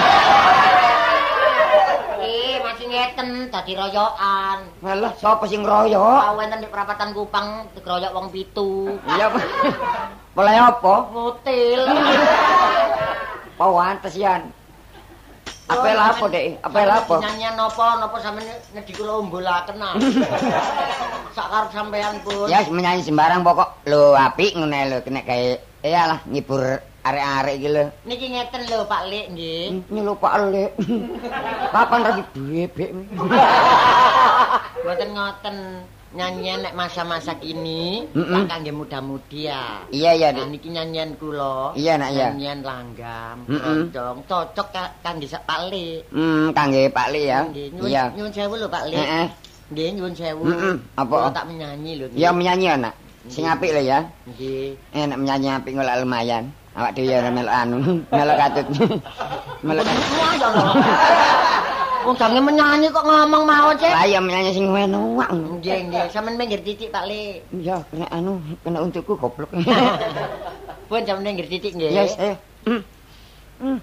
Eh, masih ngeten dadi royokan. Alah sapa sing ngroyok? Tau enten di perapatan Kupang dikeroyok wong pitu. Iya. Mulai apa? Ngutil. Pawantes yan. Apa lapo Dek? Apa lapo? Nyanyian napa napa sampeyan ngedi kula umbulaken ah. Sak karep sampean pun. Ya menyanyi sembarang pokok. Lho apik ngene lho kena gawe iyalah ngibur arek-arek iki lho. Niki ngeten lho Pak Lik nggih. Ini lho Pak Lek. Kapan lagi bebek? Mboten ngoten. Nyanyian nek masa-masa kini Mm -mm. kangge muda-mudi ya. Iya iya Nah Dik. niki nyanyian kula. Iya nak ya. Nyanyian langgam, Mm -mm. keroncong, cocok ka- kangge sak Pak Lik. Hmm, kangge Pak Lek ya. Nggih, nyuwun Iya. nyuwun sewu lho Pak Lik. Heeh. Nggih, nyuwun sewu. Mm-mm. Apa? Kula tak menyanyi lho. nggih. Ya menyanyi anak. Sing apik lho ya. Nggih. Enak menyanyi apik ngolah lumayan. Awak dhewe ya melok anu, melok katut. Melok katut. Ya Allah. Wong jange menyanyi kok ngomong mawon, Cek. Lah ya menyanyi sing enak. Nggih, nggih. Sampeyan minggir titik Pak Lik. Ya kena anu, kena untukku goblok. Pun sampeyan minggir titik nggih. Yes, ayo. Hmm. Hmm.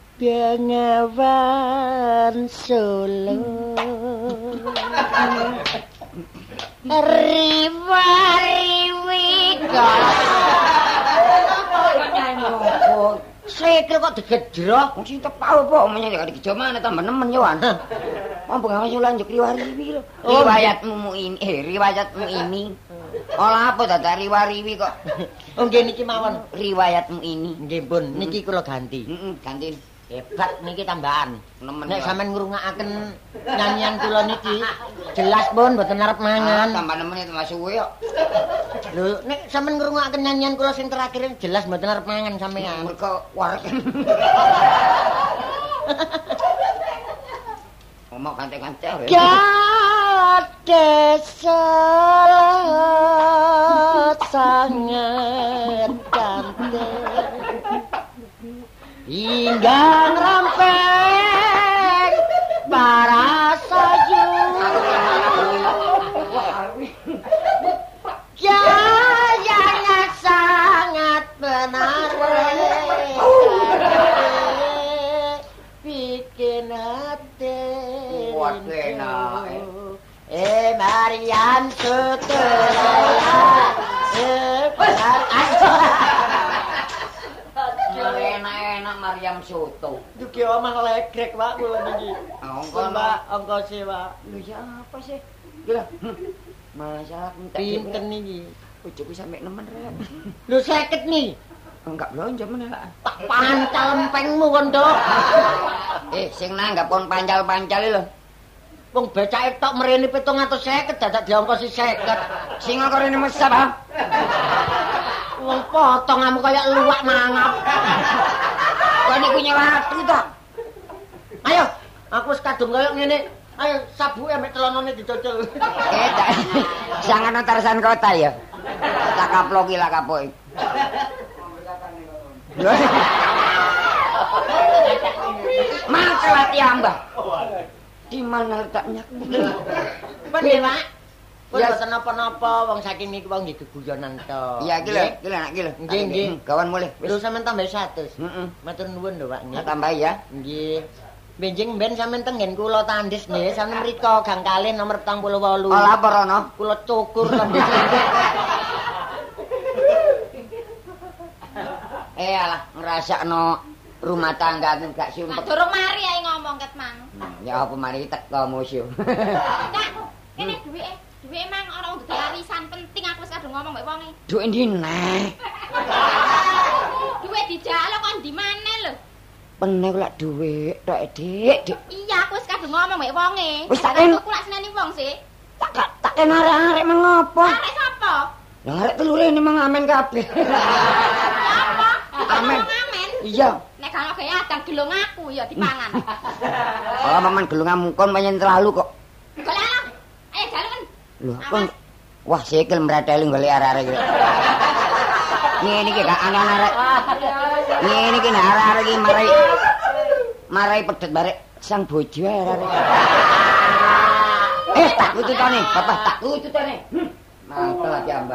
Bengawan Solo riwa-riwi Sikil kok digedrok. Wong sing tepal apa menyanyi kok digejo mana tambah nemen yo an. Wong bengawan sulan juk riwa-riwi lho. Riwayatmu mu ini, eh riwayatmu ini. Olah apa dadak riwa-riwi kok. Oh nggih niki mawon. Riwayatmu ini. Nggih pun, niki kula ganti. Heeh, ganti. Hebat niki tambahan. Nemen. Nek yo. sampean ngrungokake nyanyian kula niki jelas pun mboten arep Ah, mangan. tambah nemen itu masuk suwe kok. Lho, nek sampean ngrungokake nyanyian kula sing terakhir jelas mboten arep mangan sampean. Mergo warek. Ngomong kante-kante ya. Gadesalat sangat cantik hingga rampeng para sayu gayanya sangat benar bikin hati Waduh, enak. eh Marian Suteraya eh benar Enak-enak Maryam Soto. Dugi omah legrek Pak kula niki. Ongko Mbak ongko Pak. Lho ya apa sih? Gila. Masak entek. Pinten niki? Bojoku sampe nemen rek. Lho seket nih. Enggak belanja meneh lah. Tak pancal empengmu kon, Dok. Eh, sing nanggap kon pancal-pancal lho. Wong becake tok mrene pitung atus seket dadak diongkosi seket. Sing kok rene mesap ha. Wong potonganmu kaya luwak mangap. Kok niku nyewati to? Ayo, aku wis kadung kaya ngene. Ayo sabuke mek celonone dicocol. Eh, jangan Tarzan kota ya. Tak kaploki lah kapok. Masalah tiambah. Di mana letaknya? Ben ya, Pak. Ya boten napa-napa wong saking niku wong nggih geguyonan to. Iya, iki lho, iki lho, iki lho. Nggih, nggih. Kawan mulih. Lho sampean tambah seratus. Heeh. Matur nuwun lho, Pak. Tak tambah ya. Nggih. Benjing ben sampean tengen kula tandis nggih, sampean mriko gang kalih nomor petang puluh wolu. Oh, lapor ana. Kula cukur tandis. Eh alah ngrasakno rumah tangga aku gak sumpek. Durung mari ae ngomong ket mang. Ya apa mari teko musuh. Cak, kene duwike. Duwike mang ana wong dadi arisan penting aku wis kadung ngomong mbek wonge. Duwe ndi neh? Duwe dijaluk kok ndi maneh lho. Peneh lak duwe tok Dik, Dik. Iya, aku wis kadung ngomong mbek wonge. Wis tak en. Aku lak seneni wong sih. Tak tak ken arek-arek mengopo? Arek sapa? Lah arek telure ini mengamen kabeh. Apa? Amen. Amen. Iya. Nek kalau kaya adang gelung aku ya dipangan. Oh, maman gelungan kon pancen terlalu kok. Golek lah. Ayo jalan. Lho, kon wah sikil mrateli golek arek-arek iki. Ngene iki gak ana arek. Ngene iki nek arek-arek iki marai marai pedet barek sang bojo ae arek. Eh, tak tututane, Bapak, tak tututane. Hm. Mangkel aja, Mbak.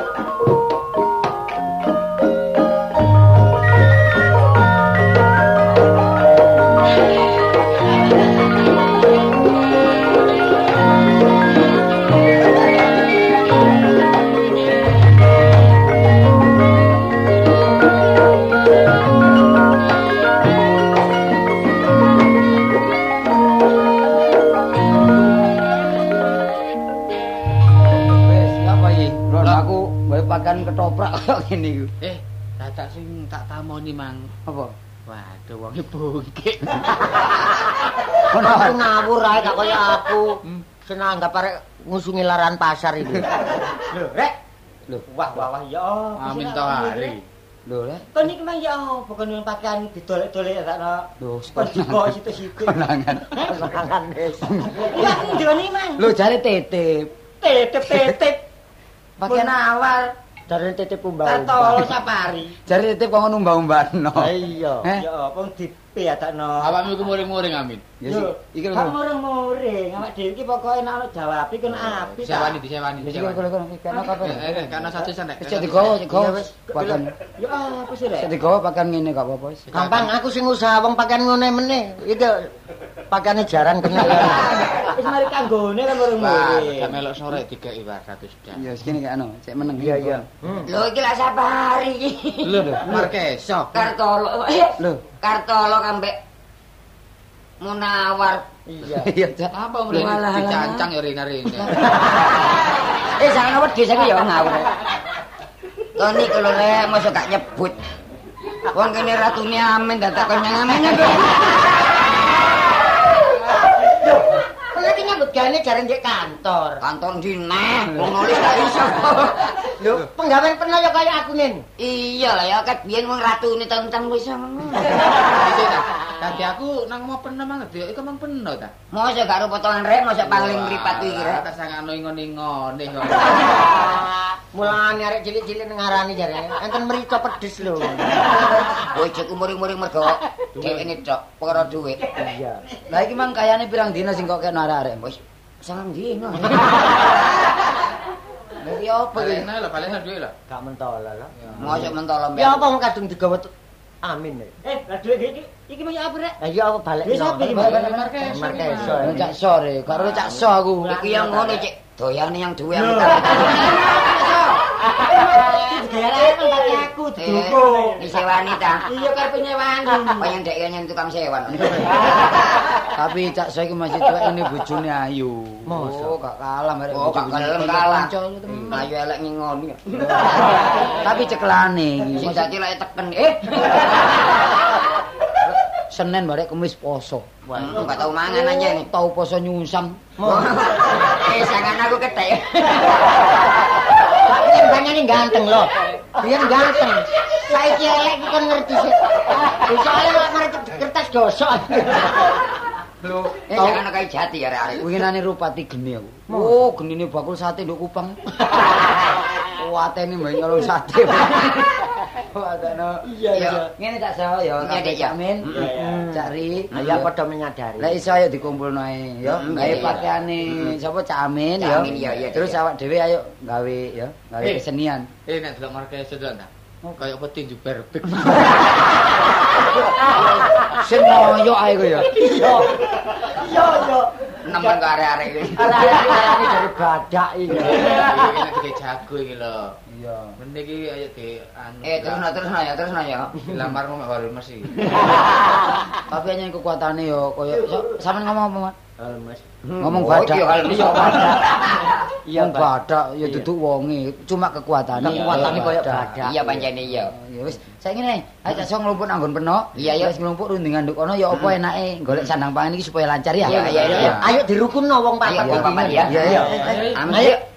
Pakan ketoprak kok ngene iku. Eh, dadak sing tak tamoni mang. Apa? Waduh, wonge bungkik. Kon aku ngawur ae gak kaya aku. Senang anggap arek ngusungi laran pasar iki. Lho, Rek. Lho, Wah, wah, wah ya. Amin to hari. lho le. Kon iki mang ya apa kon yang pakaian didolek-dolek sakno. Lho, Kon dikok situ-situ. konangan. Konangan wis. Iya, aku ndone mang. Lho jare titip. Titip-titip. Pakaian awal. Jare titip umbah. Tato safari. Jare titip kok ngono umbah-umbahno. Iya. Eh? Ya wong dipe adakno. Awakmu iku muring-muring Amin. Ya Yo, iki kan lho. muring-muring. Awak dhewe iki pokoke nek ana jawabi kon apik. Disewani, disewani, Iki disewani. kok kok kana kabar. Eh, eh, kana satu santai. Wis digowo, digowo wis. Pakan. Ya apa sih, Wis Rek? digowo pakan ngene gak apa-apa wis. Gampang aku sing usaha wong pakaian ngene meneh. Iki pakaiane jarang kena. Wis mari kanggone kan Wah, muring-muring. gak melok sore dikeki wae satu dak. Ya segini kayak anu, cek meneng. Iya, iya. Lho iki lak safari iki. Lho, Markeso. Kartolo. Lho, Kartolo kambek Munawar. Iya. Iya, Cak. Apa mulai Walah. dicancang ya rene-rene. Eh, jangan wedi saiki ya ngawur. Kon iki lho rek, mosok gak nyebut. Wong kene ratune Amin dadak kon nyangamennya kok. Kon iki nyambut gawe jarang di kantor. Kantor ndi neh, wong nulis gak iso. Lho, penggawean pernah ya kaya aku nen. Iya lah ya ket biyen wong ratune tentang wis ngono. Iki ta. Tadi aku nang mau peno manget ya, iku mang peno ta. Mosok gak ro potongan rek, mosok pangling mripat iki rek. Tak sangano ingon-ingone kok. Mulane arek cilik-cilik ngarani jare. Enten mrica pedes lho. Bojoku muring-muring mergo dheweke tok perkara dhuwit. Iya. Lah iki mang kayane pirang dina sing kok kena arek-arek, Bos? Sangang dina. Lah iki opo iki? Balena lho, balena duwe lho. Gak mentolo lho. Mosok mentolo mbek. Ya apa wong kadung digawa tu- Amin. Eh, lah duwe iki iki mau apa rek? Lah ya apa balik. Wis apa iki? Markeso. Markeso. Cak sore, karo cak so aku. Iki yang ngono, Cik. Doyane yang duwe yang Digarane kan pakai aku didukung. disewani ta. Iya karepe nyewani. Payen dek nyen tukang sewan. Tapi cak so iki masih tuwek ini bojone ayu. Masa? Oh, gak kalah merek Oh, gak bojone kalah. kanca. Ayo elek ngingoni. Tapi ceklane iki. Sing dadi lek teken eh Senin barek Kamis poso. Wah, enggak tahu mangan aja nih. Tau poso nyungsam. Eh, sangan aku ketek. Biyen banyane ganteng lho. Biyen ganteng. Saiki elek iki kon ngerti sih. Soale lek mari kertas gosok. Lho, eh jangan kayak jati ya arek. Winginane Rupati geni aku. Oh, genine bakul sate nduk Kupang. Kuatene mbek nyolong sate. Kuatane. Iya iya. Ngene tak sawo ya, Kak Jamin. Cak Ri, ya padha menyadari. Lah iso ayo dikumpulno ae ya. Gawe pakaiane sapa Cak Amin ya. Terus awak dhewe ayo gawe ya, gawe kesenian. Eh nek delok markese to ta. Kayak peti juber big. Sing ngoyo ae kok ya. Iya. Iya iya. Nemen karo arek-arek iki. Arek-arek dari badak iki. Iki iki jago iki lho. Iya. Mene iki ayo di anu. Eh terusno terusno ya, terusno ya. Lamarmu mek baru mesti. Tapi hanya kekuatane yo koyo sampean ngomong apa, Mas? Mas. Ngomong badak. Iya badak. Iya badak ya duduk wonge, cuma kekuatane. Kekuatane koyo badak. Iya pancene iya. Ya wis, saiki ngene, ayo tak sok nglumpuk nang nggon penok. Iya ya wis nglumpuk rundingan nduk kono ya apa enake golek sandang pangan iki supaya lancar ya. Iya iya iya. Ayo dirukunno wong papat. Ayo wong papat ya. Iya iya. Ayo.